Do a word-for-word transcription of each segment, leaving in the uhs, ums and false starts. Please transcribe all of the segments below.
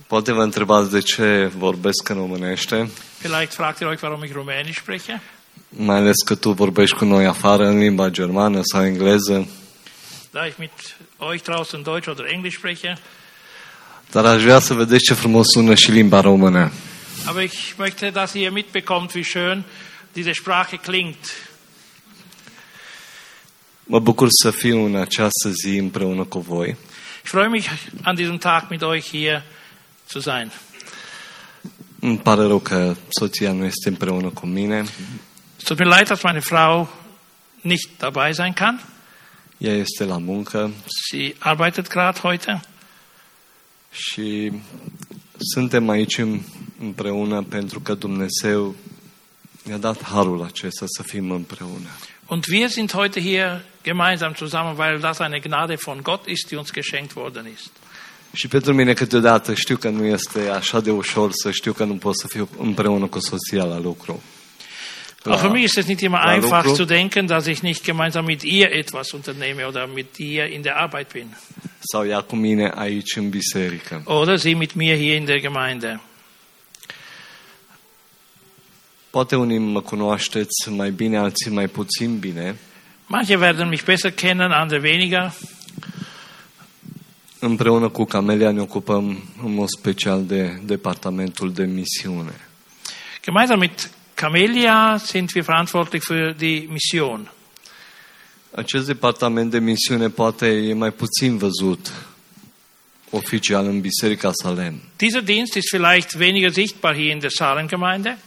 Poate vă întrebați de ce vorbesc în românește. Vielleicht fragt ihr euch, warum ich Rumänisch spreche. Mai ales că tu vorbești cu noi afară în limba germană sau engleză. Da ich mit euch draußen Deutsch oder Englisch spreche. Dar aș vrea să vedeți ce frumos sună și limba română. Aber ich möchte, dass ihr mitbekommt, wie schön diese Sprache klingt. Mă bucur să fiu în această zi împreună cu voi. Ich freue mich, an diesem Tag mit euch hier zu sein. Îmi pare rău că soția nu este împreună cu mine. Es tut mir leid, dass meine Frau nicht dabei sein kann. Ea este la muncă. Sie arbeitet gerade heute. Și suntem aici împreună pentru că Dumnezeu ne-a dat harul acesta să fim împreună. Und wir sind heute hier gemeinsam zusammen, weil das eine Gnade von Gott ist, die uns geschenkt worden ist. Și pentru mine câteodată știu că nu este așa de ușor să știu că nu pot să fiu împreună cu soția la lucru. La, Auch für mich ist es nicht immer einfach lucru. zu denken, dass ich nicht gemeinsam mit ihr etwas unternehme oder mit ihr in der Arbeit bin. Sau ea cu mine aici în biserică. Oder sie mit mir hier in der Gemeinde. Poate unii mă cunoașteți mai bine, alții mai puțin bine. Manche werden mich besser kennen, andere weniger. Împreună cu Camelia ne ocupăm în mod special de departamentul de misiune. Gemeinsam mit Camelia sind wir verantwortlich für die Mission. Acest departament de misiune poate e mai puțin văzut oficial în Biserica Salem. Dieser Dienst ist vielleicht weniger sichtbar hier in der Salengemeinde,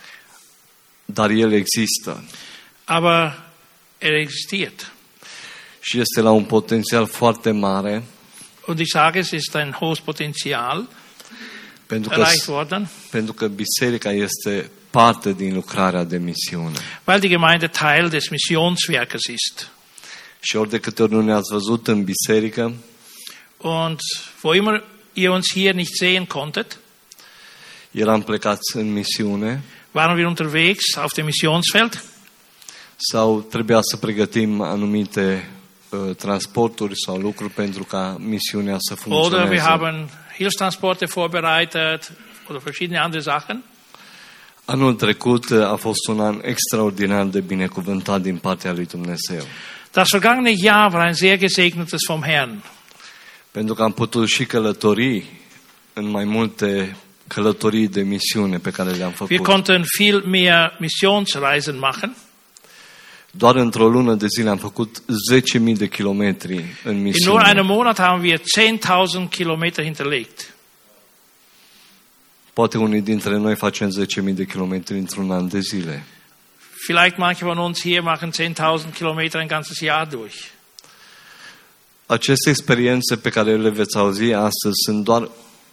Dar el există. aber er existiert. Și este la un potențial foarte mare. Und ich sage, es ist ein hohes Potenzial Pentru că, erreicht worden, pentru că biserica este parte din lucrarea de misiune. weil die Gemeinde Teil des Missionswerkes ist. Și ori de câte ori nu ne-ați văzut în biserică, Und wo immer ihr uns hier nicht sehen konntet, eram plecați în misiune waren wir unterwegs auf dem Missionsfeld sau trebuia să pregătim anumite uh, transporturi sau lucruri pentru ca misiunea să oder wir funcționeze. haben Hilfstransporte vorbereitet oder verschiedene andere Sachen. Anul trecut uh, a fost un an extraordinar de binecuvântat din partea lui Dumnezeu. Das vergangene Jahr war ein sehr gesegnetes vom Herrn. Pentru că am putut și călători în mai multe călătorii de misiune pe care le-am Wir făcut. konnten viel mehr Missionsreisen machen. Doar într-o lună de zile am făcut zece mii de kilometri în In nur misiune. einem Monat haben wir zehntausend Kilometer hinterlegt. Poate unii dintre noi facem zece mii de kilometri într-un an de zile. Vielleicht manche von uns hier machen zehntausend Kilometer ein ganzes Jahr durch. Aceste experiențe pe care le veți auzi astăzi sunt doar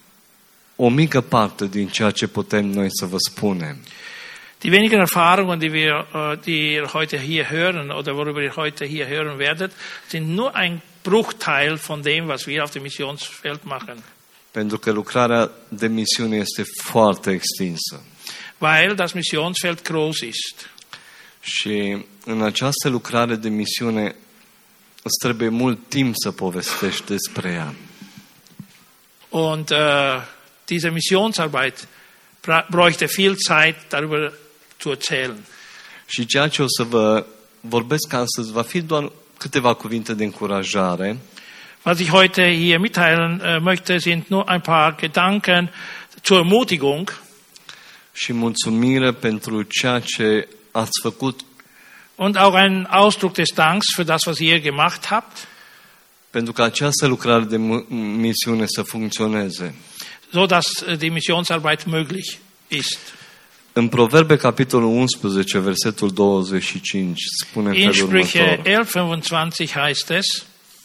o mică parte din ceea ce putem noi să vă spunem. Die wenigen Erfahrungen, die wir, uh, die ihr heute hier hören oder worüber ihr heute hier hören werdet, sind nur ein Bruchteil von dem, was wir auf dem Missionsfeld machen. Pentru că lucrarea de misiune este foarte extinsă. Weil das Missionsfeld groß ist. Și în această lucrare de misiune îți trebuie mult timp să povestești despre ea. Und uh, diese Missionsarbeit bräuchte viel Zeit, darüber zu erzählen. Și ceea ce o să vă vorbesc astăzi va fi doar câteva cuvinte de încurajare. Was ich heute hier mitteilen uh, möchte, sind nur ein paar Gedanken zur Ermutigung. Și mulțumire pentru ceea ce ați făcut. Und auch ein Ausdruck des Danks für das, was ihr gemacht habt. Pentru că această lucrare de misiune să funcționeze. So dass die Missionsarbeit möglich ist. În Proverbe, capitolul unsprezece, versetul douăzeci și cinci, spune în In felul Sprüche următor. elf fünfundzwanzig heißt es: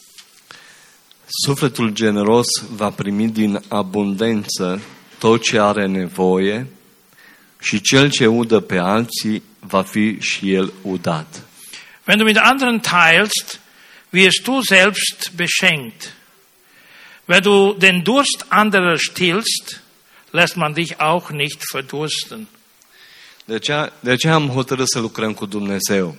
Sufletul generos va primi din abundență tot ce are nevoie și cel ce udă pe alții va fi și el udat. Wenn du mit anderen teilst, wirst du selbst beschenkt. Wenn du den Durst anderer stillst, lässt man dich auch nicht verdursten. De aceea, de aceea am hotărât să lucrăm cu Dumnezeu.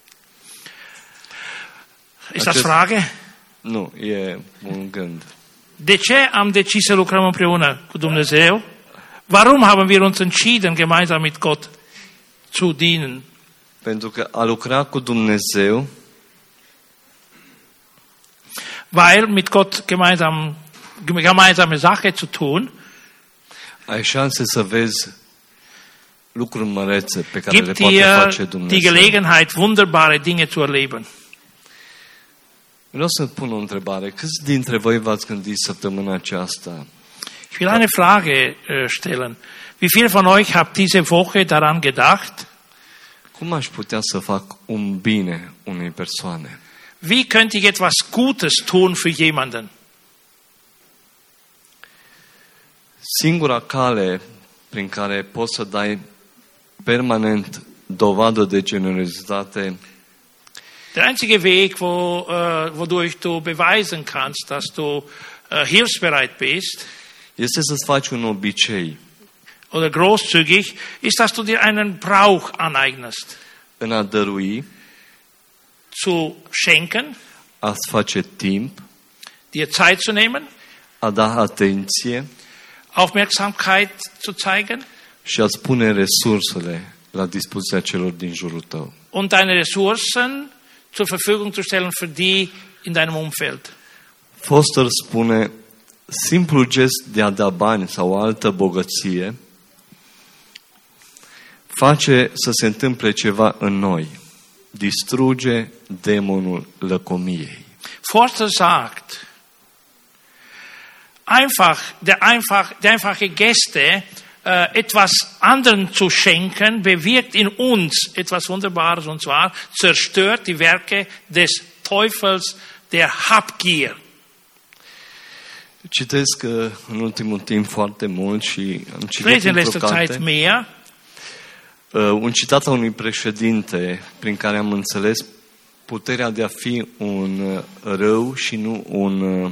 Ist das Frage? Nu, e un gând. De ce am decis să lucrăm împreună cu Dumnezeu? Warum haben wir uns entschieden, gemeinsam mit Gott zu dienen? Pentru că a lucra cu Dumnezeu Weil mit Gott gemeinsam, gemeinsame Sache zu tun, ai șanse să vezi lucruri mărețe pe care le gibt poate dir face die Dumnezeu. Gelegenheit, wunderbare Dinge zu erleben. Vreau să pun o întrebare. Câți dintre voi v-ați gândit săptămâna aceasta? Ich will eine Frage äh, stellen. Wie viele von euch habt diese Woche daran gedacht, Cum aș putea să fac un bine unei persoane? wie könnte ich etwas Gutes tun für jemanden? Singura cale prin care poți să dai permanent dovadă de generozitate Der einzige Weg, wo, äh, wodurch du beweisen kannst, dass du äh, hilfsbereit bist este să-ți faci un obicei oder großzügig, ist, dass du dir einen Brauch aneignest, în a dărui, zu schenken, a-ți face timp, dir Zeit zu nehmen, a da atenție Aufmerksamkeit zu zeigen și a-ți pune resursele la dispoziția celor din jurul tău. und deine Ressourcen zur Verfügung zu stellen für die in deinem Umfeld. Foster spune, simplul gest de a da bani sau o altă bogăție face să se întâmple ceva în noi. Distruge demonul lăcomiei. Forster sagt, einfach, der, einfach, der einfache Geste, äh, etwas anderen zu schenken, bewirkt in uns etwas Wunderbares, und zwar zerstört die Werke des Teufels der Habgier. Citesc uh, în ultimul timp foarte mult și am Ich citit lese in într-o letzter Zeit carte mehr. uh, un citat al unui președinte prin care am înțeles puterea de a fi un uh, râu și nu un, uh,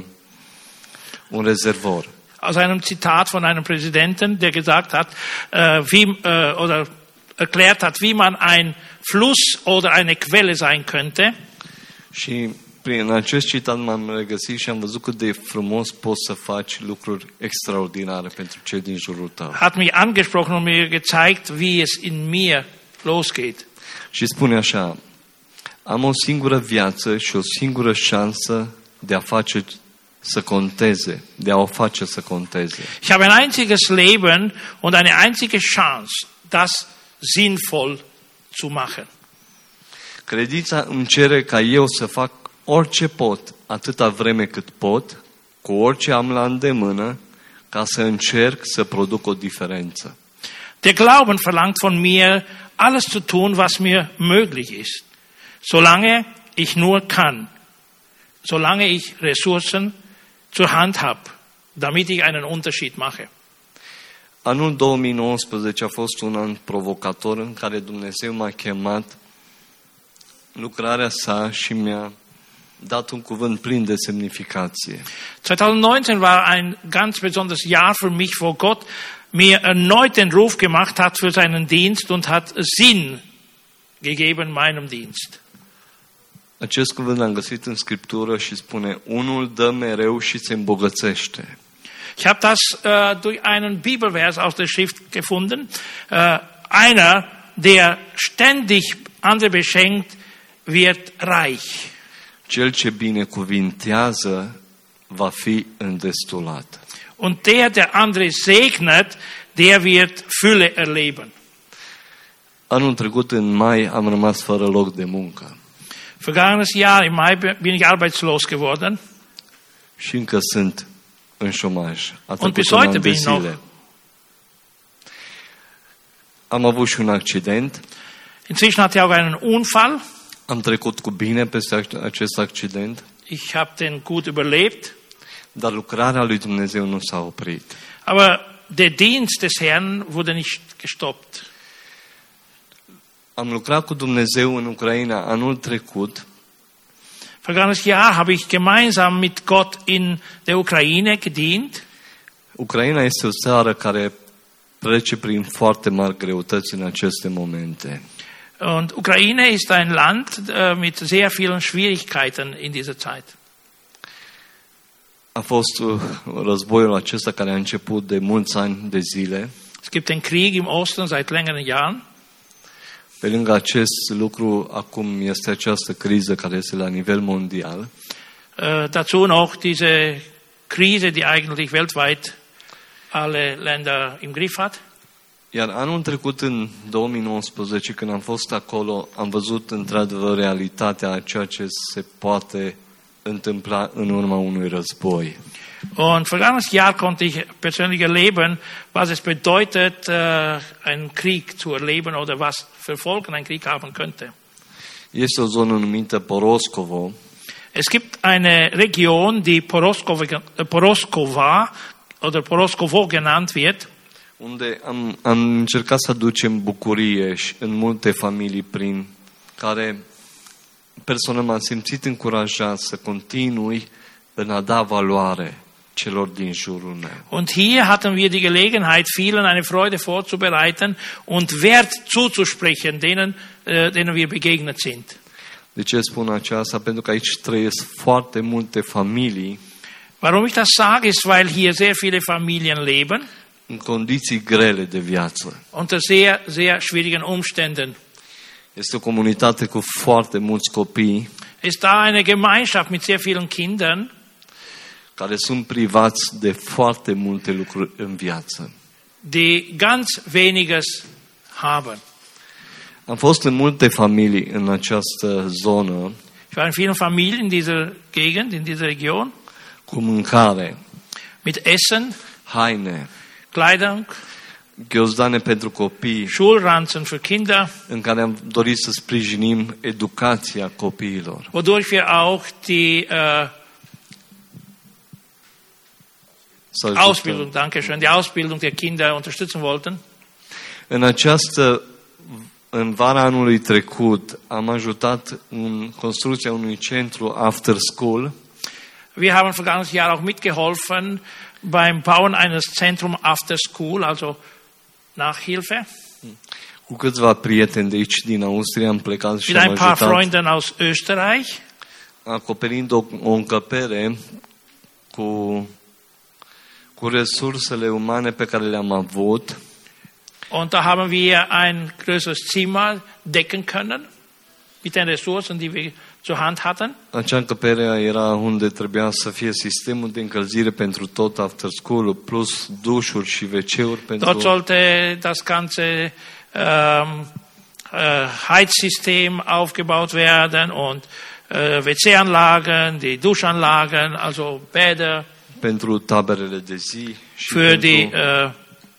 un rezervor. Aus einem Zitat von einem Präsidenten, der gesagt hat, äh, wie, äh, oder erklärt hat, wie man ein Fluss oder eine Quelle sein könnte. Și prin acest citat m-am regăsit și am văzut cât de frumos poți să faci lucruri extraordinare pentru cei din jurul tău. Hat mich angesprochen und mir gezeigt, wie es in mir losgeht. Și spune așa, am o singură viață și o singură șansă de a face să conteze, de a o face să conteze. Ich habe ein einziges Leben und eine einzige Chance, das sinnvoll zu machen. Credința îmi cere ca eu să fac orice pot, atâta vreme cât pot, cu orice am la îndemână, ca să încerc să produc o diferență. Der Glauben verlangt von mir, alles zu tun, was mir möglich ist, solange ich nur kann, solange ich Ressourcen zur Hand habe, damit ich einen Unterschied mache. Anul două mii nouăsprezece a fost un an provocator în care Dumnezeu m-a chemat lucrarea sa și mi-a dat un cuvânt plin de semnificație. zwanzig neunzehn war ein ganz besonderes Jahr für mich, wo Gott mir erneut den Ruf gemacht hat für seinen Dienst und hat Sinn gegeben meinem Dienst. Acest cuvânt l-am găsit în Scriptură și spune, unul dă mereu și se îmbogățește. Ich habe das äh, durch einen Bibelvers aus der Schrift gefunden. Äh, einer, der ständig andere beschenkt, wird reich. Cel ce binecuvintează va fi îndestulat. Und der, der andere segnet, der wird Fülle erleben. Anul trecut, în mai, am rămas fără loc de muncă. Vergangenes Jahr, im Mai, bin ich arbeitslos geworden. Și încă sunt în șomaj. A Und bis trecut un heute an de bin ich noch. zile. Am avut și un accident. Inzwischen hatte ich auch einen Unfall. Am trecut cu bine peste acest accident, Ich habe den gut überlebt. dar lucrarea lui Dumnezeu nu s-a oprit. Aber der Dienst des Herrn wurde nicht gestoppt. Am lucrat cu Dumnezeu în Ucraina anul trecut Vergangenes Jahr habe ich gemeinsam mit Gott in der Ukraine gedient. Ucraina este o țară care trece prin foarte mari greutăți în aceste momente. Und Ukraine ist ein Land äh, mit sehr vielen Schwierigkeiten in dieser Zeit. A fost uh, războiul acesta care a început de mulți ani de zile. Es gibt den Krieg im Osten seit längeren Jahren. Pe lângă acest lucru, acum este această criză care este la nivel mondial. Äh, dazu noch diese Krise, die eigentlich weltweit alle Länder im Griff hat. Iar anul trecut, în două mii nouăsprezece, când am fost acolo, am văzut într-adevăr realitatea a ceea ce se poate întâmpla în urma unui război. Und vergangenes Jahr konnte ich persönlich erleben, was es bedeutet, äh, einen Krieg zu erleben oder was für Folgen ein Krieg haben könnte. Este o zonă numită Poroskovo. Es gibt eine Region, die Poroskova, Poroskova oder Poroskovo genannt wird, Unde am, am încercat să aducem bucurie și în multe familii prin care personal m-am simțit încurajat să continui în a da valoare celor din jurul meu. Und hier hatten wir die Gelegenheit, vielen eine Freude vorzubereiten und Wert zuzusprechen, denen, äh, denen wir begegnet sind. De ce spun aceasta? Pentru că aici trăiesc foarte multe familii Warum ich das sage, ist, weil hier sehr viele Familien leben, în condiții grele de viață. unter sehr, sehr schwierigen Umständen. Este o comunitate cu foarte mulți copii Ist da eine Gemeinschaft mit sehr vielen Kindern, care sunt privați de foarte multe lucruri în viață. die ganz weniges haben. Am fost în multe familii în această zonă Ich war in vielen Familien in dieser Gegend, in dieser Region, cu mâncare, mit Essen, haine, Kleidung, ghiozdane pentru copii, Schulranzen für Kinder, în care am dorit să sprijinim educația copiilor. wodurch wir auch die äh, Să ajutăm. Ausbildung, danke schön, die Ausbildung der Kinder unterstützen wollten. În această, în vara anului trecut, am ajutat în construcția unui centru after school, Wir haben vergangenes Jahr auch mitgeholfen beim Bauen eines Zentrum after school, also Nachhilfe. cu câțiva prieteni de aici din Austria am plecat și Mit am ein paar ajutat, Freunden aus Österreich. acoperind o, o încăpere cu, cu resursele umane pe care le-am avut. Und da haben wir ein größeres Zimmer decken können mit den Ressourcen, die wir zur Hand hatten. Acea încăpere era unde trebuia să fie sistemul de încălzire pentru tot after school, plus dușuri și ve ce-uri Dort pentru... sollte das ganze ähm, äh, Heizsystem aufgebaut werden und äh, W C-Anlagen, die Duschanlagen, also Bäder pentru taberele de zi și für pentru die äh,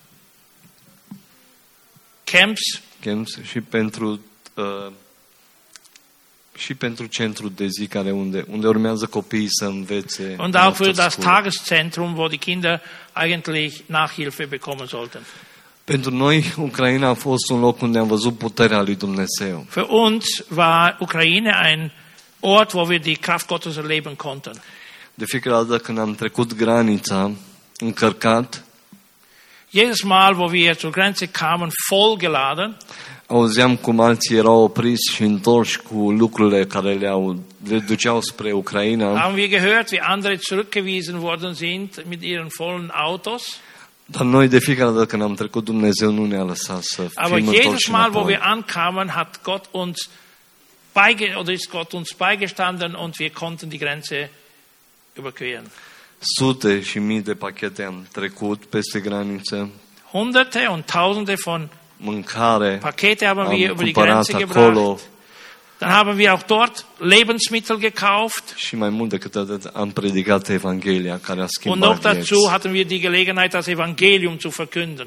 Camps camps și pentru uh, și pentru centrul de zi care unde unde urmează copiii să învețe. und în auch für after das school. Tageszentrum, wo die Kinder eigentlich Nachhilfe bekommen sollten. Pentru noi Ucraina a fost un loc unde am văzut puterea lui Dumnezeu. Für uns war Ukraine ein Ort, wo wir die Kraft Gottes erleben konnten. De fiecare dată când am trecut granița încărcat, Jedes Mal, wo wir zur Grenze kamen, vollgeladen, auzeam cum alții erau opriți și întorși cu lucrurile care le-au, le duceau spre Ucraina, haben wir gehört, wie andere zurückgewiesen worden sind mit ihren vollen Autos. dar noi de fiecare dată când am trecut, Dumnezeu nu ne-a lăsat să Aber fim jedes întorși Mal, wo înapoi. wir ankamen, hat Gott uns beige oder ist Gott uns beigestanden und wir konnten die Grenze überqueren. Sute și mii de pachete am trecut peste graniță, Hunderte und Tausende von mâncare, Pakete haben am wir über die cumpărat Grenze acolo gebracht. Dann haben wir auch dort Lebensmittel gekauft. și mai mult decât atât am predicat Evanghelia care a Und schimbat noch vieți. dazu hatten wir die Gelegenheit, das Evangelium zu verkünden.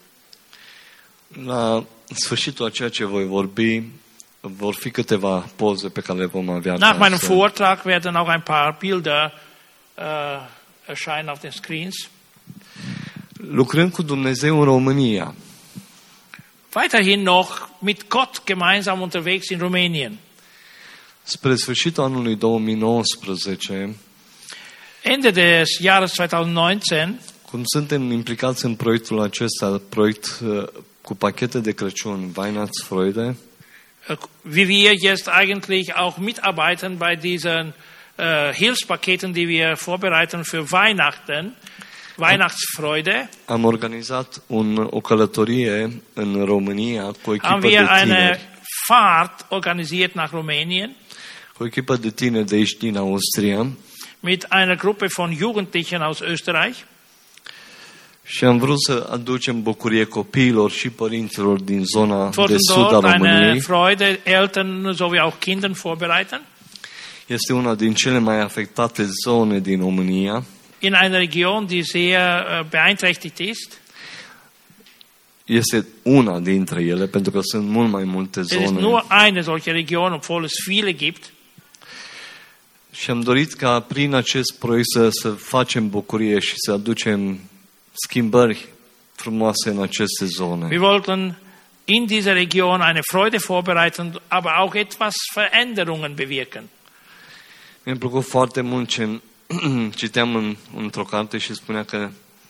La sfârșitul a ceea ce voi vorbi, vor fi câteva poze pe care le vom avea. Nach meinem acasă. Vortrag werden auch ein paar Bilder äh, erscheinen auf den Screens. Lucrând cu Dumnezeu în România, Weiterhin noch mit Gott gemeinsam unterwegs in Rumänien. spre sfârșitul anului două mii nouăsprezece, Ende des Jahres zweitausendneunzehn cum suntem implicați în proiectul acesta, proiect uh, cu pachete de Crăciun, Weihnachtsfreude, äh, wie wir jetzt eigentlich auch mitarbeiten bei diesen äh, äh, Hilfspaketen, die wir vorbereiten für Weihnachten, Weihnachtsfreude, am organizat un, o călătorie în România cu o echipă haben de wir eine tineri. Fahrt organisiert nach Rumänien Cu o echipă de tineri de aici din Austria mit einer Gruppe von Jugendlichen aus Österreich. și am vrut să aducem bucurie copiilor și părinților din zona de Wollten sud a dort eine României. Freude Eltern sowie auch Kindern vorbereiten. Este una din cele mai afectate zone din România. In einer Region, die sehr äh, beeinträchtigt ist. Este una dintre ele, pentru că sunt mult mai multe Es ist zone. nur eine solche Region, obwohl es viele gibt. Și am dorit ca prin acest proiect să, să facem bucurie și să aducem schimbări frumoase în aceste zone. Wir wollten in dieser Region eine Freude vorbereiten, aber auch etwas Veränderungen bewirken. Mi-a plăcut foarte mult ce citeam în, într-o carte și spunea că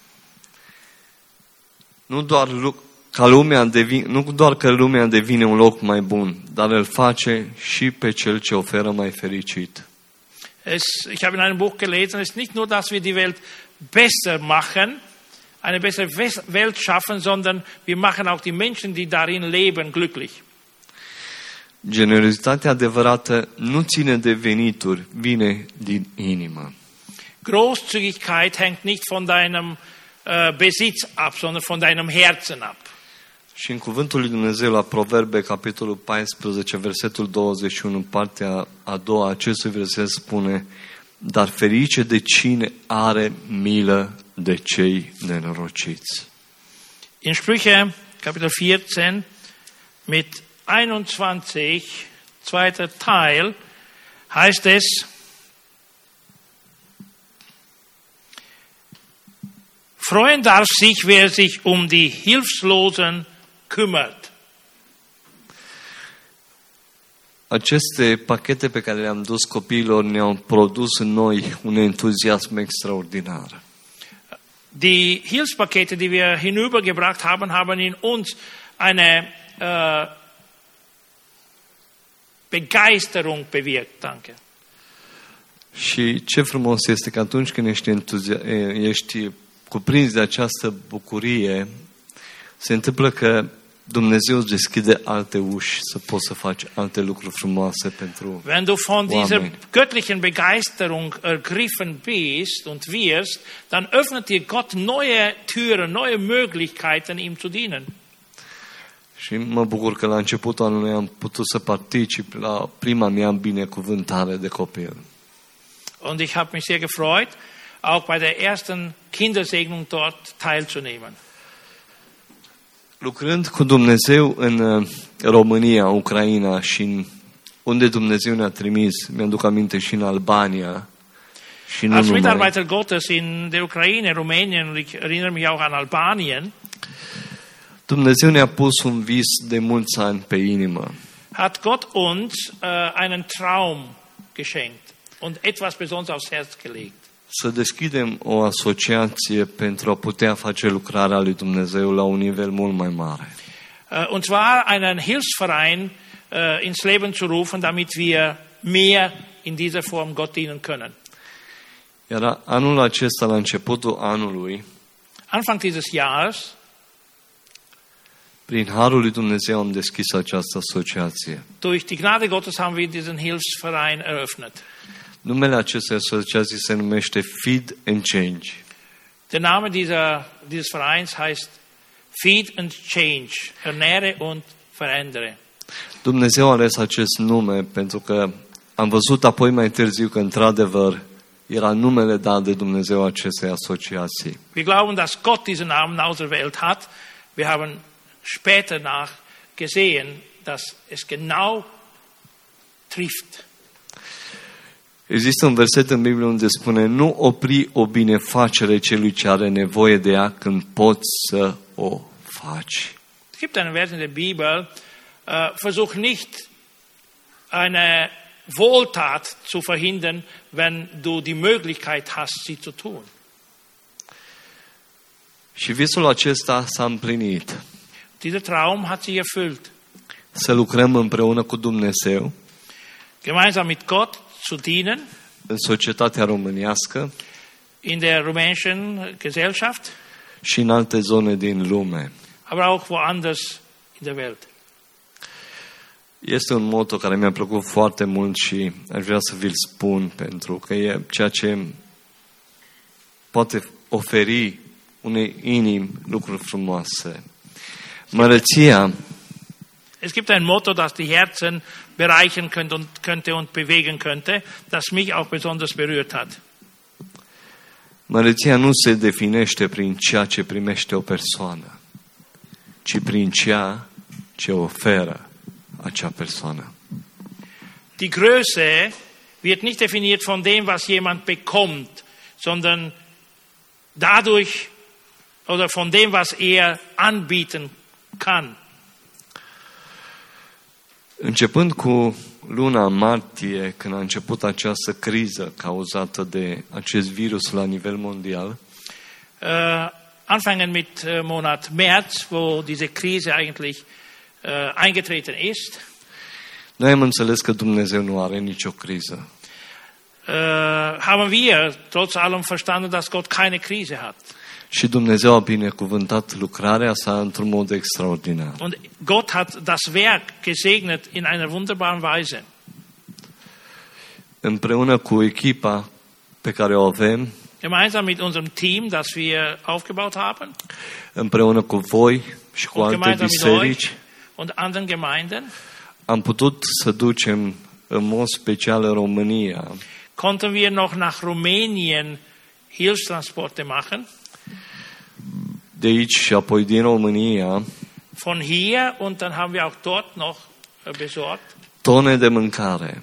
nu doar, lu- ca lumea devine, nu doar că lumea devine un loc mai bun, dar îl face și pe cel ce oferă mai fericit. Es, ich habe in einem Buch gelesen, es ist nicht nur, dass wir die Welt besser machen, eine bessere Wes- Welt schaffen, sondern wir machen auch die Menschen, die darin leben, glücklich. Generozitatea adevărată nu ține de venituri, vine din inimă. Großzügigkeit hängt nicht von deinem äh, Besitz ab, sondern von deinem Herzen ab. Și în cuvântul lui Dumnezeu la Proverbe, capitolul paisprezece, versetul douăzeci și unu, partea a doua, acestui verset spune: dar ferice de cine are milă de cei nenorociți. In Sprüche, Kapitel vierzehn, mit einundzwanzig, zweiter Teil, heißt es, freuen darf sich, wer sich um die Hilflosen kümmert. Aceste pachete pe care le-am dus copiilor ne-au produs în noi un entuziasm extraordinar. Die Hilfspakete, die wir hinübergebracht haben, haben in uns eine äh, Begeisterung bewirkt. Danke. Și ce frumos este că atunci când ești, entuzia- ești cuprins de această bucurie, se întâmplă că Dumnezeu îți deschide alte uși să poți să faci alte lucruri frumoase pentru Wenn du von dieser oameni. göttlichen Begeisterung ergriffen bist und wirst, dann öffnet dir Gott neue Türen, neue Möglichkeiten, ihm zu dienen. Și mă bucur că la începutul anului am putut să particip la prima mea binecuvântare de copil. Und ich habe mich sehr gefreut, auch bei der ersten Kindersegnung dort teilzunehmen. Lucrând cu Dumnezeu în uh, România, Ucraina și în unde Dumnezeu ne-a trimis, mi-aduc aminte și în Albania și nu Als numai, Mitarbeiter Gottes in der Ukraine, Rumänien und ich erinnere mich auch an Albanien, Dumnezeu ne-a pus un vis de mulți ani pe inimă. hat Gott uns äh, einen Traum geschenkt und etwas Besonderes aufs Herz gelegt. Să deschidem o asociație pentru a putea face lucrarea lui Dumnezeu la un nivel mult mai mare. Äh, und zwar einen Hilfsverein äh, ins Leben zu rufen, damit wir mehr in dieser Form Gott dienen können. Iar anul acesta, la începutul anului, Anfang dieses Jahres, prin Harul lui Dumnezeu am deschis această asociație. durch die Gnade Gottes haben wir diesen Hilfsverein eröffnet. Numele acestei asociații se numește Feed and Change. Der Name dieser, dieses Vereins heißt Feed and Change, ernähre und verändere. Dumnezeu a ales acest nume pentru că am văzut apoi mai târziu că într-adevăr era numele dat de Dumnezeu acestei asociații. Wir glauben, dass Gott diesen Namen auserwählt hat. Wir haben später nach gesehen, dass es genau trifft. Există un verset în Biblie unde spune: nu opri o binefacere celui ce are nevoie de ea când poți să o faci. Es gibt einen Vers in der Bibel, äh, versuch nicht eine Wohltat zu verhindern, wenn du die Möglichkeit hast, sie zu tun. Și visul acesta s-a împlinit. Dieser Traum hat sich erfüllt. Să lucrăm împreună cu Dumnezeu, Gemeinsam mit Gott zu dienen, în societatea românească in der rumänischen Gesellschaft, și în alte zone din lume. aber auch woanders in der Welt. Este un motto care mi-a plăcut foarte mult și aș vrea să vi-l spun, pentru că e ceea ce poate oferi unei inimi lucruri frumoase. Măreția Es gibt ein Motto, das die Herzen bereichern könnte und, könnte und bewegen könnte, das mich auch besonders berührt hat. Măreția nu se definește prin ceea ce primește o persoană, ci prin ceea ce oferă acea persoană. Die Größe wird nicht definiert von dem, was jemand bekommt, sondern dadurch oder von dem, was er anbieten kann. Începând cu luna martie, când a început această criză cauzată de acest virus la nivel mondial, Uh, anfangen mit uh, Monat März, wo diese Krise eigentlich uh, eingetreten ist, noi am înțeles că Dumnezeu nu are nicio criză. uh, haben wir trotz allem verstanden, dass Gott keine Krise hat. Și Dumnezeu a binecuvântat lucrarea sa într-un mod extraordinar. Und Gott hat das Werk gesegnet in einer wunderbaren Weise. Împreună cu echipa pe care o avem, Gemeinsam mit unserem Team, das wir aufgebaut haben, împreună cu voi și cu und alte gemeinsam mit biserici, euch und anderen Gemeinden, am putut să ducem în mod special în România konnten wir noch nach Rumänien Hilfstransporte machen. de aici și apoi din România Von hier und dann haben wir auch dort noch besorgt tone de mâncare,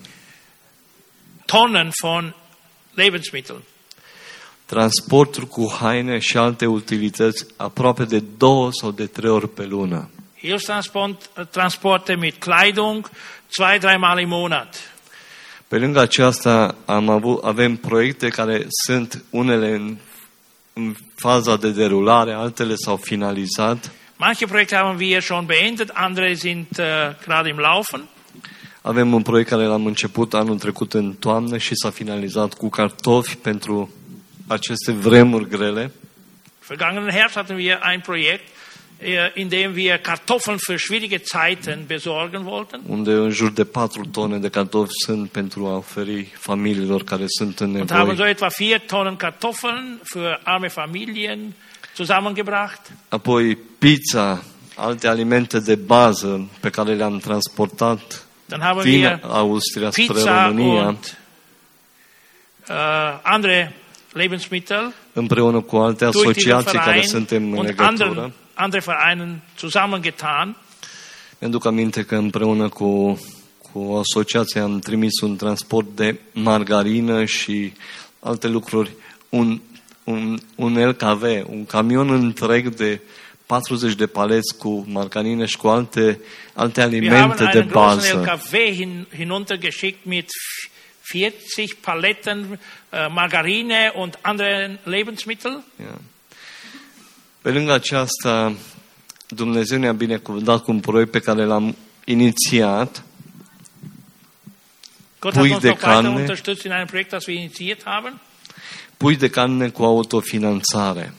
Tonnen von Lebensmitteln. transporturi cu haine și alte utilități aproape de două sau de trei ori pe lună. Hilfstransporte mit Kleidung, zwei, dreimal im Monat. Pe lângă aceasta am avut, avem proiecte care sunt unele în, în faza de derulare, altele s-au finalizat. Manche Projekte haben wir schon beendet, andere sind uh, gerade im Laufen. Avem un proiect care l-am început anul trecut în toamnă și s-a finalizat cu cartofi pentru aceste vremuri grele. Vergangenen Herbst hatten wir ein Projekt, in dem wir Kartoffeln für schwierige Zeiten besorgen wollten. Unde în jur de patru tone de cartofi sunt pentru a oferi familiilor care sunt în Und haben so nevoie. etwa vier Tonnen Kartoffeln für arme Familien zusammengebracht. Apoi pizza, alte alimente de bază pe care le-am transportat Dann haben din wir Austria spre Pizza România, und uh, andere Lebensmittel împreună cu alte durch diesen asociații care Verein suntem în und legătură. anderen, andere Vereinen zusammengetan. Mi-aduc aminte că împreună cu, cu o asociație am trimis un transport de margarină și alte lucruri, un, un, un L K V, un camion întreg de patruzeci de paleți cu margarină și cu alte, alte Wir haben alimente de einen großen L bază. K V hin, hinuntergeschickt mit vierzig Paletten uh, Margarine und anderen Lebensmittel. Yeah. Pe lângă aceasta, Dumnezeu ne-a binecuvântat cu un proiect pe care l-am inițiat, Gott hat Pui uns de noch weiter carne. unterstützt in einem Projekt, das wir initiiert haben. pui de carne cu autofinanțare.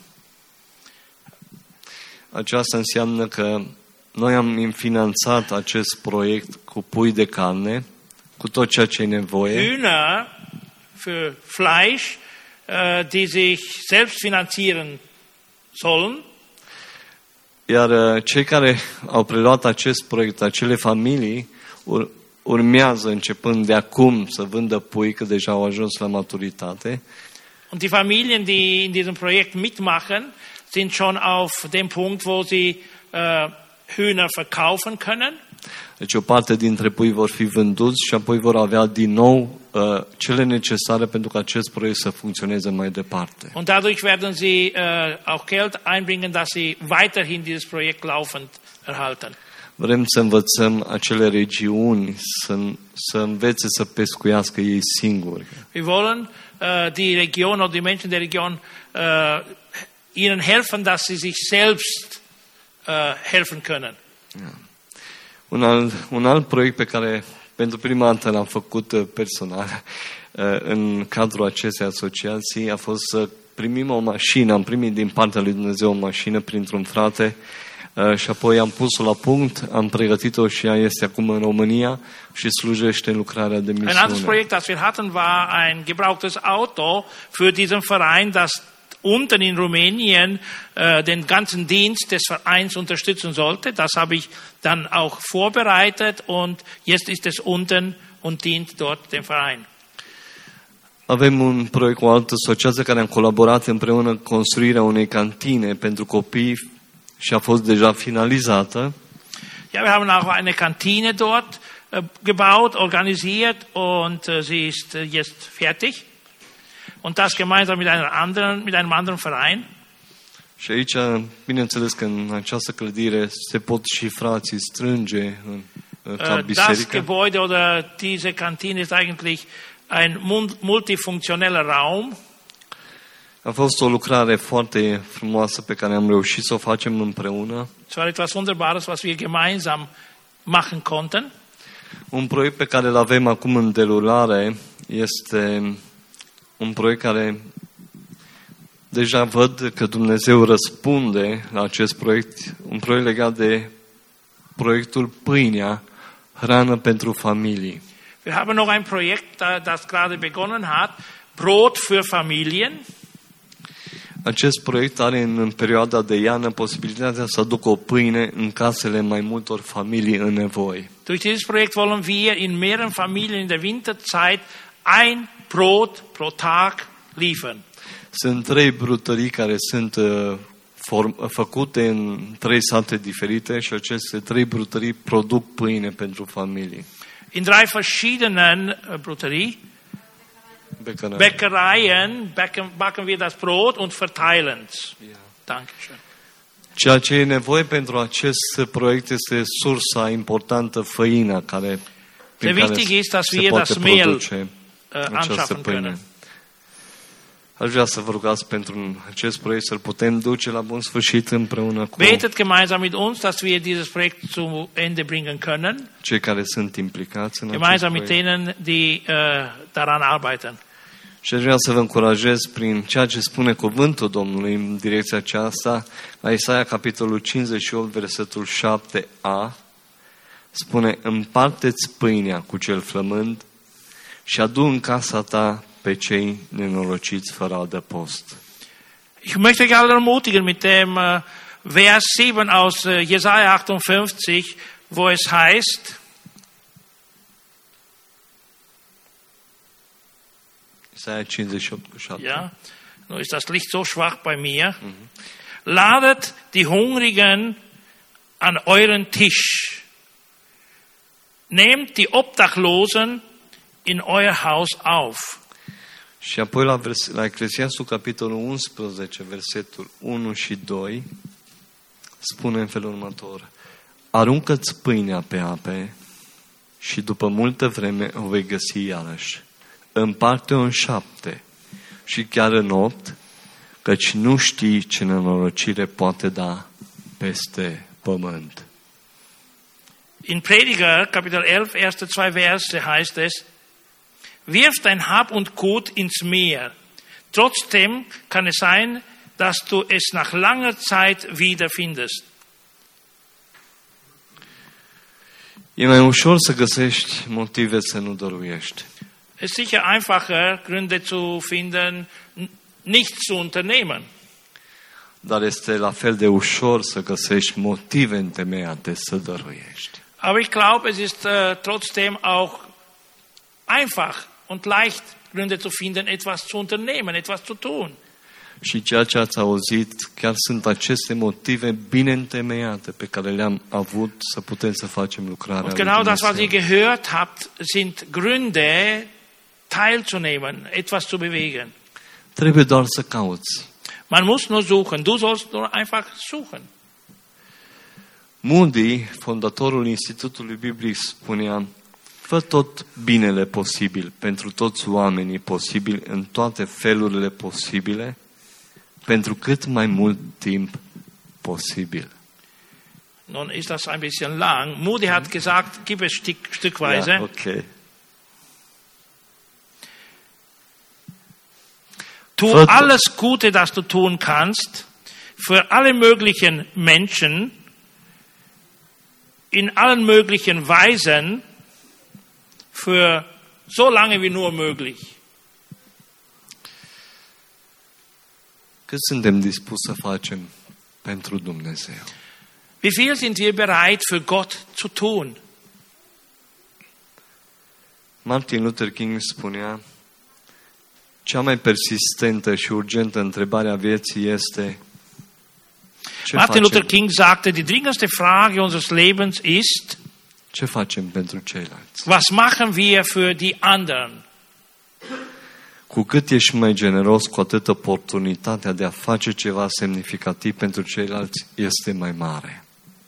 Aceasta înseamnă că noi am finanțat acest proiect cu pui de carne, cu tot ceea ce e nevoie, Hühner für Fleisch, uh, die sich selbst finanzieren sollen. iar uh, cei care au preluat acest proiect, acele familii, ur- urmează începând de acum să vândă pui, că deja au ajuns la maturitate, Und die Familien, die in diesem Projekt mitmachen, sind schon auf dem Punkt, wo sie uh, Hühner verkaufen können. deci o parte dintre pui vor fi vânduți și apoi vor avea din nou uh, cele necesare pentru ca acest proiect să funcționeze mai departe. Und dadurch werden sie uh, auch Geld einbringen, dass sie weiterhin dieses Projekt laufend erhalten. Vrem să învățăm acele regiuni să, să învețe să pescuiască ei singuri. Wir wollen uh, die Region oder die Menschen der Region uh, ihnen helfen, dass sie sich selbst uh, helfen können. Un alt, un alt proiect pe care pentru prima dată l-am făcut personal în cadrul acestei asociații, a fost să primim o mașină. Am primit din partea lui Dumnezeu o mașină printr-un frate și apoi am pus-o la punct, am pregătit-o și ea este acum în România și slujește în lucrarea de misiune. Ein anderes Projekt, das wir hatten, war ein gebrauchtes Auto für diesen Verein, das unten in Rumänien äh, den ganzen Dienst des Vereins unterstützen sollte. Das habe ich dann auch vorbereitet und jetzt ist es unten und dient dort dem Verein. Avem un proiect cu o altă asociație care am colaborat împreună construirea unei cantine pentru copii și a fost deja finalizată. Ja, wir haben auch eine Kantine dort äh, gebaut, organisiert und äh, sie ist äh, jetzt fertig. Und das gemeinsam mit einem anderen, mit einem anderen Verein. Și aici, bineînțeles că în această clădire se pot și frații strânge în, ca biserică. Das Gebäude oder diese Kantine ist eigentlich ein multifunktioneller Raum. A fost o lucrare foarte frumoasă pe care am reușit să o facem împreună. Es war etwas Wunderbares, was wir gemeinsam machen konnten. Un proiect pe care îl avem acum în derulare este un proiect care deja văd că Dumnezeu răspunde la acest proiect, un proiect legat de proiectul Pâinea, hrană pentru familii. Wir haben noch ein Projekt, das gerade begonnen hat, Brot für Familien. Acest proiect are în perioada de iarnă posibilitatea să aducă o pâine în casele mai multor familii în nevoie. Durch dieses Projekt wollen wir in mehreren Familien in der Winterzeit ein Brot pro Tag liefern. Sunt trei brutării care sunt uh, form, făcute în trei sate diferite și aceste trei brutării produc pâine pentru familii. In drei verschiedenen uh, Brutterie, Bäckerei. Bäckereien backen, backen wir das Brot und verteilen es. Yeah. Dankeschön. Ceea ce e nevoie pentru acest proiect este sursa importantă, făina, care, prin care wichtig ist, dass se wir poate das Mehl produce uh, această anschaffen pâine. können. Aș vrea să vă rugați pentru acest proiect să-l putem duce la bun sfârșit împreună cu Betet gemeinsam mit uns, dass wir dieses Projekt zu Ende bringen können. cei care sunt implicați în acest Gemeinsam mit proiect. denen, die uh, daran arbeiten. Și aș vrea să vă încurajez prin ceea ce spune cuvântul Domnului în direcția aceasta, la Isaia capitolul cincizeci și opt, versetul șapte a, spune: împarte-ți pâinea cu cel flămând și adu în casa ta pe cei nenorociți fără adăpost. Ich möchte euch alle ermutigen mit dem uh, Vers sieben aus uh, Jesaja achtundfünfzig, wo es heißt, Isaia cincizeci și opt cu șapte. ja, nur ist das Licht so schwach bei mir, mhm. Ladet die Hungrigen an euren Tisch, nehmt die Obdachlosen in euer Haus auf. Și apoi la, vers, la Eclesiastul capitolul unsprezece, versetul unu și doi, spune în felul următor: aruncă-ți pâinea pe ape și după multă vreme o vei găsi iarăși. Împarte-o în șapte și chiar în opt, căci nu știi ce nenorocire poate da peste pământ. In Prediger, Kapitel elf, erste zwei Verse heißt es, wirf dein Hab und Gut ins Meer. Trotzdem kann es sein, dass du es nach langer Zeit wiederfindest. E mai ușor să găsești motive să nu dăruiești. Es ist sicher einfacher, Gründe zu finden, nichts zu unternehmen. Dar este la fel de ușor să găsești motive întemeiate să dăruiești. Aber ich glaube, es ist uh, trotzdem auch einfach und leicht, Gründe zu finden, etwas zu unternehmen, etwas zu tun. Și ceea ce ați auzit, chiar sunt aceste motive bine întemeiate pe care le-am avut să putem să facem lucrarea Und lui genau das, was Dumnezeu. ihr gehört habt, sind Gründe, teilzunehmen, etwas zu bewegen. Trebuie doar să cauți. Man muss nur suchen. Du sollst nur einfach suchen. Moody, fondatorul Institutului Biblic, spunea: fă tot binele posibil pentru toți oamenii posibil în toate felurile posibile, pentru cât mai mult timp posibil. Nun ist das ein bisschen lang. Moody hat gesagt, gib es Stück, stückweise. Ja, okay. Tu Viertel. alles Gute, das du tun kannst, für alle möglichen Menschen, in allen möglichen Weisen, für so lange wie nur möglich. Cât suntem dispuși să facem pentru Dumnezeu? Wie viel sind wir bereit, für Gott zu tun? Martin Luther King spunea, cea mai persistentă și urgentă întrebare a vieții este ce Martin Luther facem, King sagte, die dringendste Frage unseres Lebens ist, ce facem pentru ceilalți? was machen wir für die anderen? Cu cât ești mai generos, cu atât oportunitatea de a face ceva semnificativ pentru ceilalți este mai mare.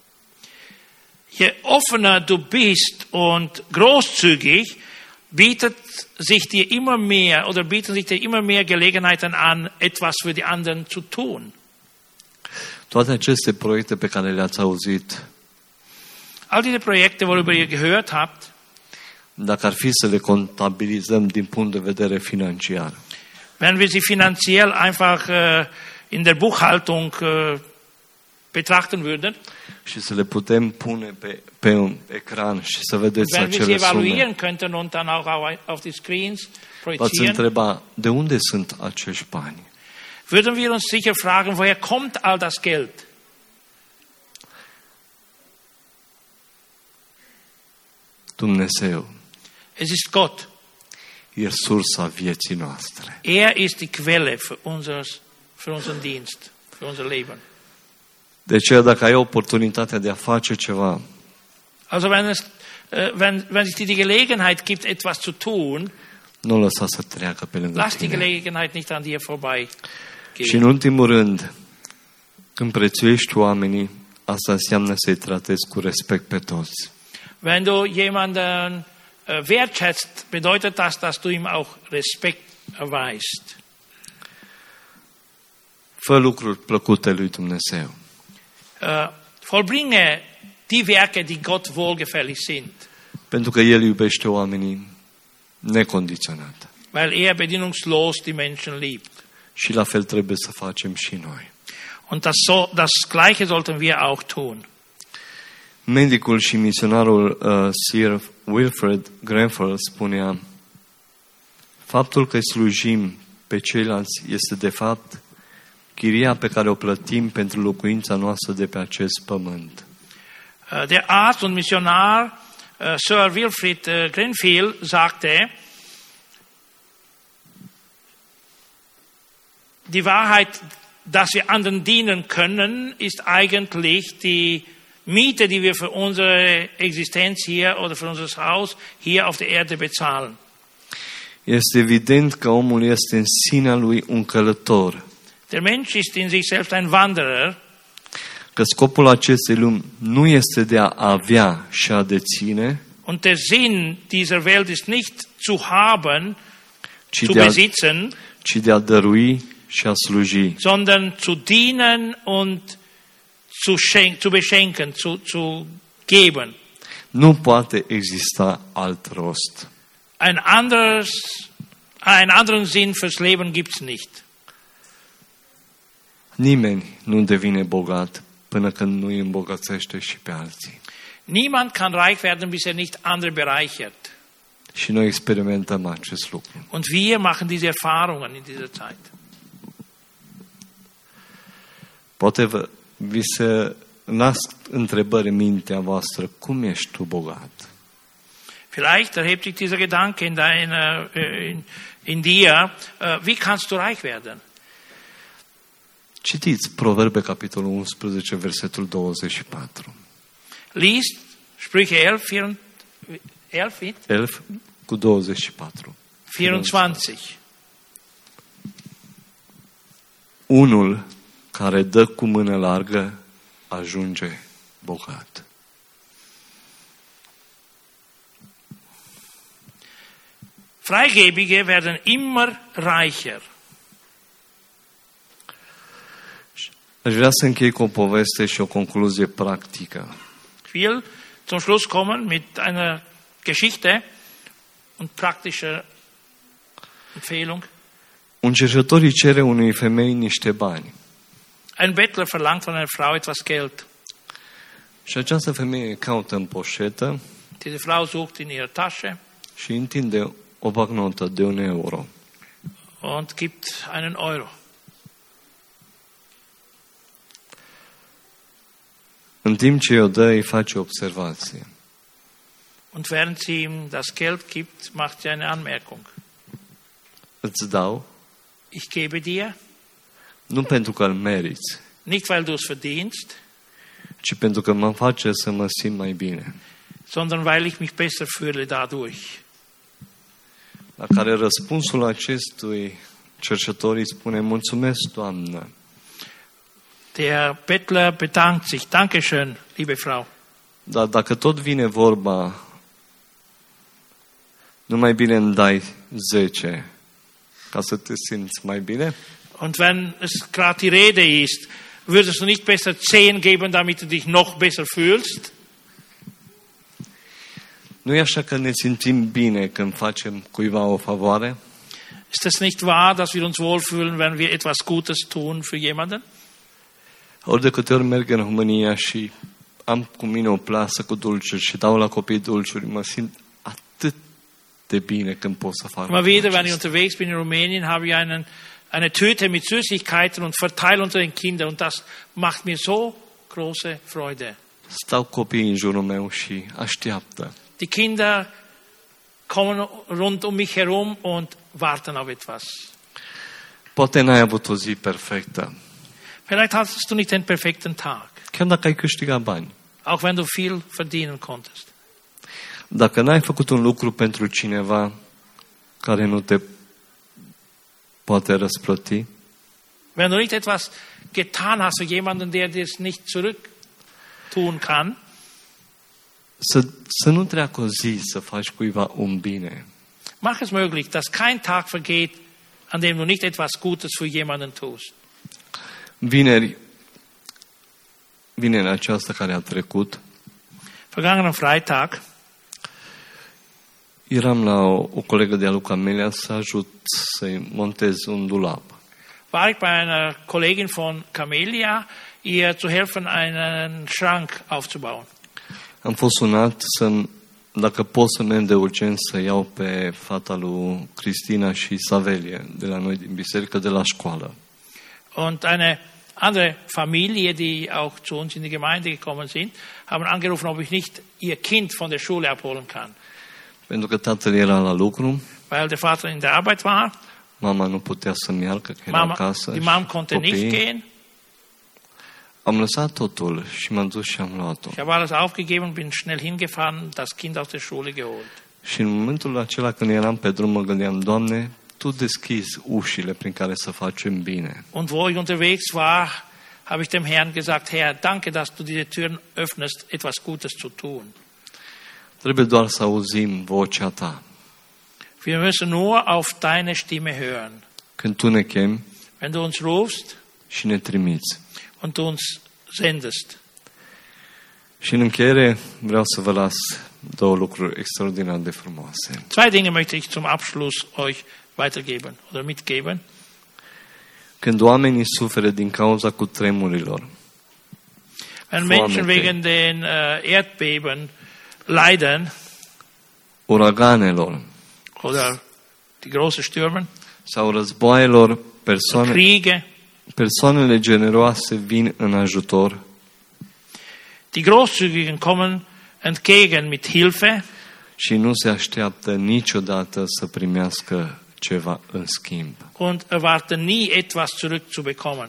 Je offener du bist und großzügig, bietet sich dir immer mehr oder bieten sich dir immer mehr Gelegenheiten an, etwas für die anderen zu tun. Toate aceste proiecte pe care le-ați auzit, All diese Projekte, worüber ihr gehört habt, dacă ar fi să le contabilizăm din punct de vedere financiar, wenn wir sie finanziell einfach äh, in der Buchhaltung äh, betrachten würden, și să le putem pune pe, pe un ecran și să vedeți wenn wir sie acele sume, evaluieren könnten und dann auch auf- auf die Screens v-ați projizieren, întreba de unde sunt acești bani? würden wir uns sicher fragen, woher kommt all das Geld? Dumnezeu Es ist Gott. e sursa vieții noastre. Er ist die Quelle für, unseres, für unseren Dienst, für unser Leben. De aceea, dacă ai oportunitatea de a face ceva, Also wenn, es, äh, wenn, wenn es dir die Gelegenheit gibt, etwas zu tun, nu lăsa să treacă pe lângă lass die tine. Gelegenheit nicht an dir vorbei Și în gehen. ultimul rând, când prețuiești oamenii, asta înseamnă să-i tratezi cu respect pe toți. Wenn du jemanden äh, wertschätzt, bedeutet das, dass du ihm auch Respekt erweist. Fă lucruri plăcute lui Dumnezeu. Äh, vollbringe die Werke, die Gott wohlgefällig sind, Pentru că El iubește oamenii necondiționat. weil er bedingungslos die Menschen liebt. Și la fel trebuie să facem și noi. Und das, so, das Gleiche sollten wir auch tun. Medicul și misionarul uh, Sir Wilfred Grenfell spunea, faptul că slujim pe ceilalți este de fapt chiria pe care o plătim pentru locuința noastră de pe acest pământ. Äh, Der Arzt und Missionar äh, Sir Wilfrid äh, Grenfell sagte, die Wahrheit, dass wir anderen dienen können, ist eigentlich die Miete, die wir für unsere Existenz hier oder für unser Haus hier auf der Erde bezahlen. Este evident că omul este în sinea lui un călător, Der Mensch ist in sich selbst ein Wanderer, că scopul acestei lumi nu este de a avea și a deține, und der Sinn dieser Welt ist nicht zu haben, ci zu de a, besitzen, ci de a dărui și a sluji. sondern zu dienen und zu, schenk, zu beschenken, zu, zu geben. Nu poate exista alt rost. Ein anderes, einen anderen Sinn fürs Leben gibt's nicht. Nimeni nu devine bogat până când nu îi îmbogățește și pe alții. Niemand kann reich werden, bis er nicht andere bereichert. Și noi experimentăm acest lucru. Und wir machen diese Erfahrungen in dieser Zeit. Poate vă, vi se nasc întrebări în mintea voastră, cum ești tu bogat? Vielleicht erhebt sich dieser Gedanke in, deiner, äh, in, in dir, äh, wie kannst du reich werden? Citiți Proverbe, capitolul unsprezece, versetul douăzeci și patru. Liest Sprüche elf, elf, Elf cu douăzeci și patru. vierundzwanzig. Unul care dă cu mână largă ajunge bogat. Freigebige werden immer reicher. Aș vrea să închei cu o poveste și o concluzie practică. Ich will zum Schluss kommen mit einer Geschichte und praktischer Empfehlung. Un cerșetor îi cere unei femei niște bani. Ein Bettler verlangt von einer Frau etwas Geld. Și această femeie caută în poșetă Diese Frau sucht in ihrer Tasche și întinde o bancnotă de un euro. und gibt einen Euro. În timp ce o dă, îi face o observație. Und während sie ihm das Geld gibt, macht sie eine Anmerkung. Îți dau, Ich gebe dir, nu pentru că îl meriți, nicht weil du es verdienst, ci pentru că mă face să mă simt mai bine. sondern weil ich mich besser fühle dadurch. La care răspunsul acestui cerșetor îi spune, mulțumesc, Doamnă, Der Bettler bedankt sich. Dankeschön, liebe Frau. dar dacă tot vine vorba, nu mai bine îmi dai zece ca să te simți mai bine? Und wenn es gerade die Rede ist, würdest du nicht besser zehn geben, damit du dich noch besser fühlst? Nu e așa că ne simțim bine când facem cuiva o favoare? Ist es nicht wahr, dass wir uns wohlfühlen, wenn wir etwas Gutes tun für jemanden? Ori de câte ori merg în România și am cu mine o plasă cu dulciuri și dau la copii dulciuri, mă simt atât de bine când pot să fac Immer wieder, wenn ich acesta. unterwegs bin in Rumänien, habe ich einen, eine Tüte mit Süßigkeiten und verteile unter den Kindern. Und das macht mir so große Freude. Stau copiii în jurul meu și așteaptă. Die Kinder kommen rund um mich herum und warten auf etwas. Poate n-ai avut o zi perfectă, Vielleicht hattest du nicht den perfekten Tag, chiar dacă ai câștigat bani. auch wenn du viel verdienen konntest. Dacă n-ai făcut un lucru pentru cineva care nu te poate răsplăti, Wenn du nicht etwas getan hast für jemanden, der dir es nicht zurück tun kann, să, să nu treacă o zi să faci cuiva un bine. mach es möglich, dass kein Tag vergeht, an dem du nicht etwas Gutes für jemanden tust. Vineri, vinerea aceasta care a trecut, Vergangenen Freitag eram la o, o colegă de-a lui Camelia să ajut să-i montez un dulap. war ich bei einer Kollegin von Camelia, ihr zu helfen, einen Schrank aufzubauen. Am fost sunat să dacă pot să merg de urgent să iau pe fata lui Cristina și Savelie de la noi din biserică, de la școală. Und eine andere Familie, die auch zu uns in die Gemeinde gekommen sind, haben angerufen, ob ich nicht ihr Kind von der Schule abholen kann. Pentru că tatăl era la lucru, Weil der Vater in der Arbeit war, mama nu putea să-mi meargă, că era Mama, acasă. die și Mom konnte nicht copiii. gehen. Am lăsat totul și m-am dus și am luat-o. Ich habe alles aufgegeben, bin schnell hingefahren, das Kind aus der Schule geholt. Și în momentul acela când eram pe drum, mă gândeam, Doamne, Tu deschizi ușile prin care să facem bine. Und wo ich unterwegs war, habe ich dem Herrn gesagt, Herr, danke, dass du diese Türen öffnest, etwas Gutes zu tun. Trebuie doar să auzim vocea Ta. Wir müssen nur auf deine Stimme hören. Când Tu ne chemi Wenn du uns rufst și ne trimiți. und du uns sendest. Și în încheiere vreau să vă las două lucruri extraordinar de frumoase. Zwei Dinge möchte ich zum Abschluss euch weitergeben oder mitgeben. Când oamenii suferă din cauza cutremurilor, Wenn Foamete. Menschen wegen den äh, Erdbeben leiden uraganelor oder die großen Stürmen, sau războaielor, persoane, Kriege, persoanele generoase vin în ajutor die Großzügigen kommen entgegen mit Hilfe și nu se așteaptă niciodată să primească ceva în schimb. und erwarten nie etwas zurück zu bekommen.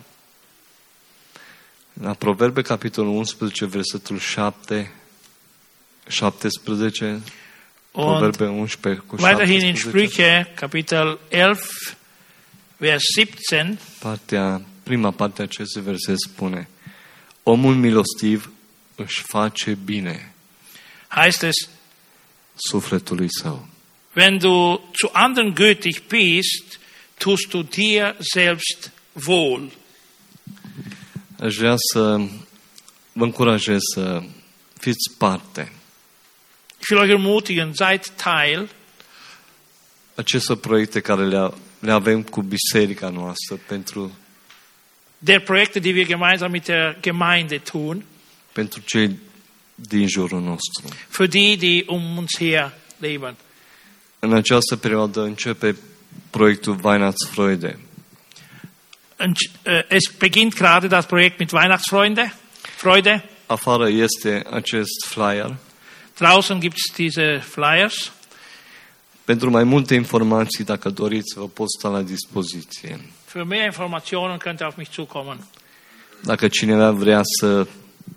La Proverbe, capitolul unsprezece, versetul șapte, șaptesprezece, Und Proverbe unsprezece cu weiterhin in șaptesprezece, Sprüche, Kapitel elf, Vers siebzehn, partea, prima parte a acestui verset spune: omul milostiv își face bine heißt es, sufletului său. wenn du zu anderen gütig bist, tust du dir selbst wohl. Aș vrea să vă încurajez să fiți parte. Ich will euch ermutigen, seid Teil Aceste proiecte care le, le avem cu biserica noastră pentru, der Projekte, die wir gemeinsam mit der Gemeinde tun, pentru cei din jurul nostru. für die, die um uns her leben. În această perioadă începe proiectul Weihnachtsfreude. Und, äh, es beginnt gerade das Projekt mit Weihnachtsfreude. Freude. Afară este acest flyer. Draußen gibt es diese Flyers. Pentru mai multe informații, dacă doriți, vă pot sta la dispoziție. Für mehr Informationen könnt ihr auf mich zukommen. Dacă cineva vrea să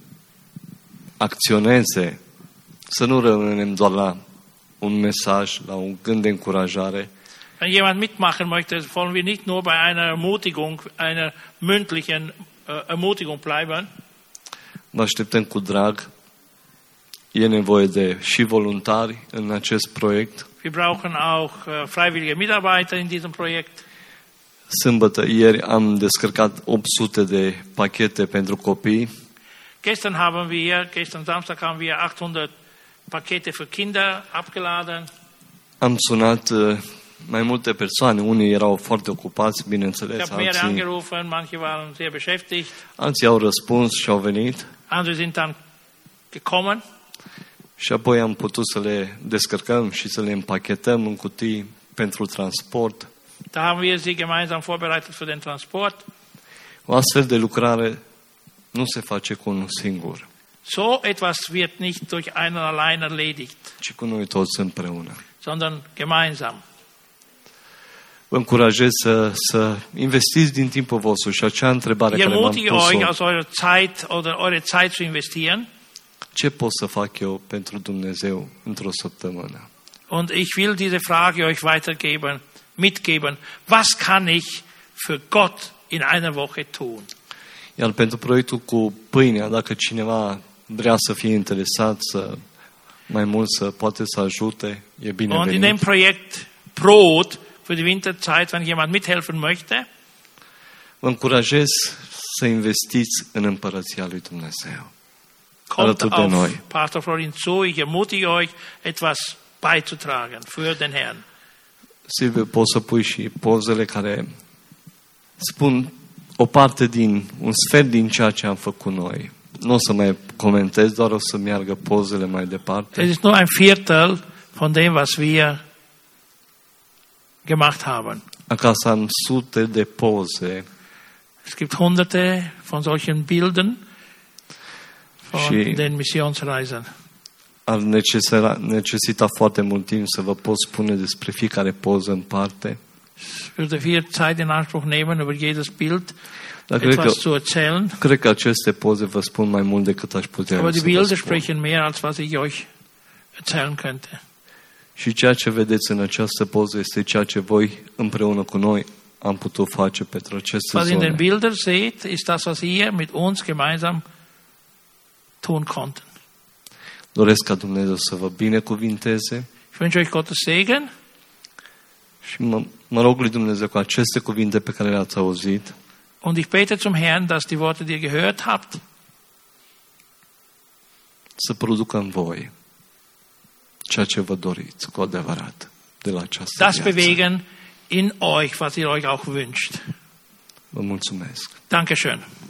acționeze, să nu rămânem doar la un mesaj, la un gând de încurajare, Wenn jemand mitmachen möchte, wollen wir nicht nur bei einer Ermutigung, einer mündlichen äh, Ermutigung bleiben. vă așteptăm cu drag. E nevoie de și voluntari în acest proiect. Wir brauchen auch äh, freiwillige Mitarbeiter in diesem Projekt. Sâmbătă, ieri, am descărcat opt sute de pachete pentru copii. Gestern haben wir, gestern Samstag haben wir achthundert Pakete für Kinder abgeladen. Am sunat uh, mai multe persoane. Unii erau foarte ocupați, Ich bineînțeles, habe mehrere alții, angerufen, manche waren sehr beschäftigt, alții au răspuns și au venit. andere sind dann gekommen. Și apoi am putut să le descărcăm și să le împachetăm în cutii pentru transport. Da haben wir sie gemeinsam vorbereitet für den Transport. O astfel de lucrare nu se face cu unul singur, So etwas wird nicht durch einen allein erledigt, ci cu noi toți împreună. sondern gemeinsam. Vă încurajez să, să investiți din timpul vostru și acea întrebare Ich care m-am ermutige euch, pus-o, aus eurer Zeit oder eure Zeit zu investieren. ce pot să fac eu pentru Dumnezeu într-o săptămână? Und ich will diese Frage euch weitergeben, mitgeben. Was kann ich für Gott in einer Woche tun? Iar pentru proiectul cu pâinea, dacă cineva vrea să fie interesat, să mai mult să poate să ajute, e Und in dem binevenit. Projekt Brot für die Winterzeit, wenn jemand mithelfen möchte, Vă încurajez să investiți în împărăția lui Dumnezeu. kommt Alături de auf noi. Pastor Florin zu. Ich ermutige euch, etwas beizutragen für den Herrn. Silviu, poți să pui și pozele care spun o parte din, un sfert din ceea ce am făcut noi. Nu o să mai comentez, doar o să meargă pozele mai departe. Es ist nur ein Viertel von dem, was wir gemacht haben. Acasă am sute de poze Es gibt hunderte von solchen Bildern von Și- den Missionsreisen. ar necesita, necesita foarte mult timp să vă pot spune despre fiecare poză în parte. Es würde viel Zeit in Anspruch nehmen, über jedes Bild Dar cred că, etwas zu erzählen. cred că aceste poze vă spun mai mult decât aș putea eu Aber die să vă Bilder spun. sprechen mehr, als was ich euch erzählen könnte. Și ceea ce vedeți în această poză este ceea ce voi împreună cu noi am putut face pentru aceste Was in den zone. Bildern seht, ist das, was ihr mit uns gemeinsam tun konnten. Doresc ca Dumnezeu să vă binecuvinteze Ich wünsche euch Gottes Segen și mă, mă rog lui Dumnezeu cu aceste cuvinte pe care le-ați auzit und ich bete zum Herrn, dass die Worte, die ihr gehört habt, să producă în voi ceea ce vă doriți cu adevărat de la această das viață. bewegen in euch, was ihr euch auch wünscht. Vă mulțumesc. Dankeschön.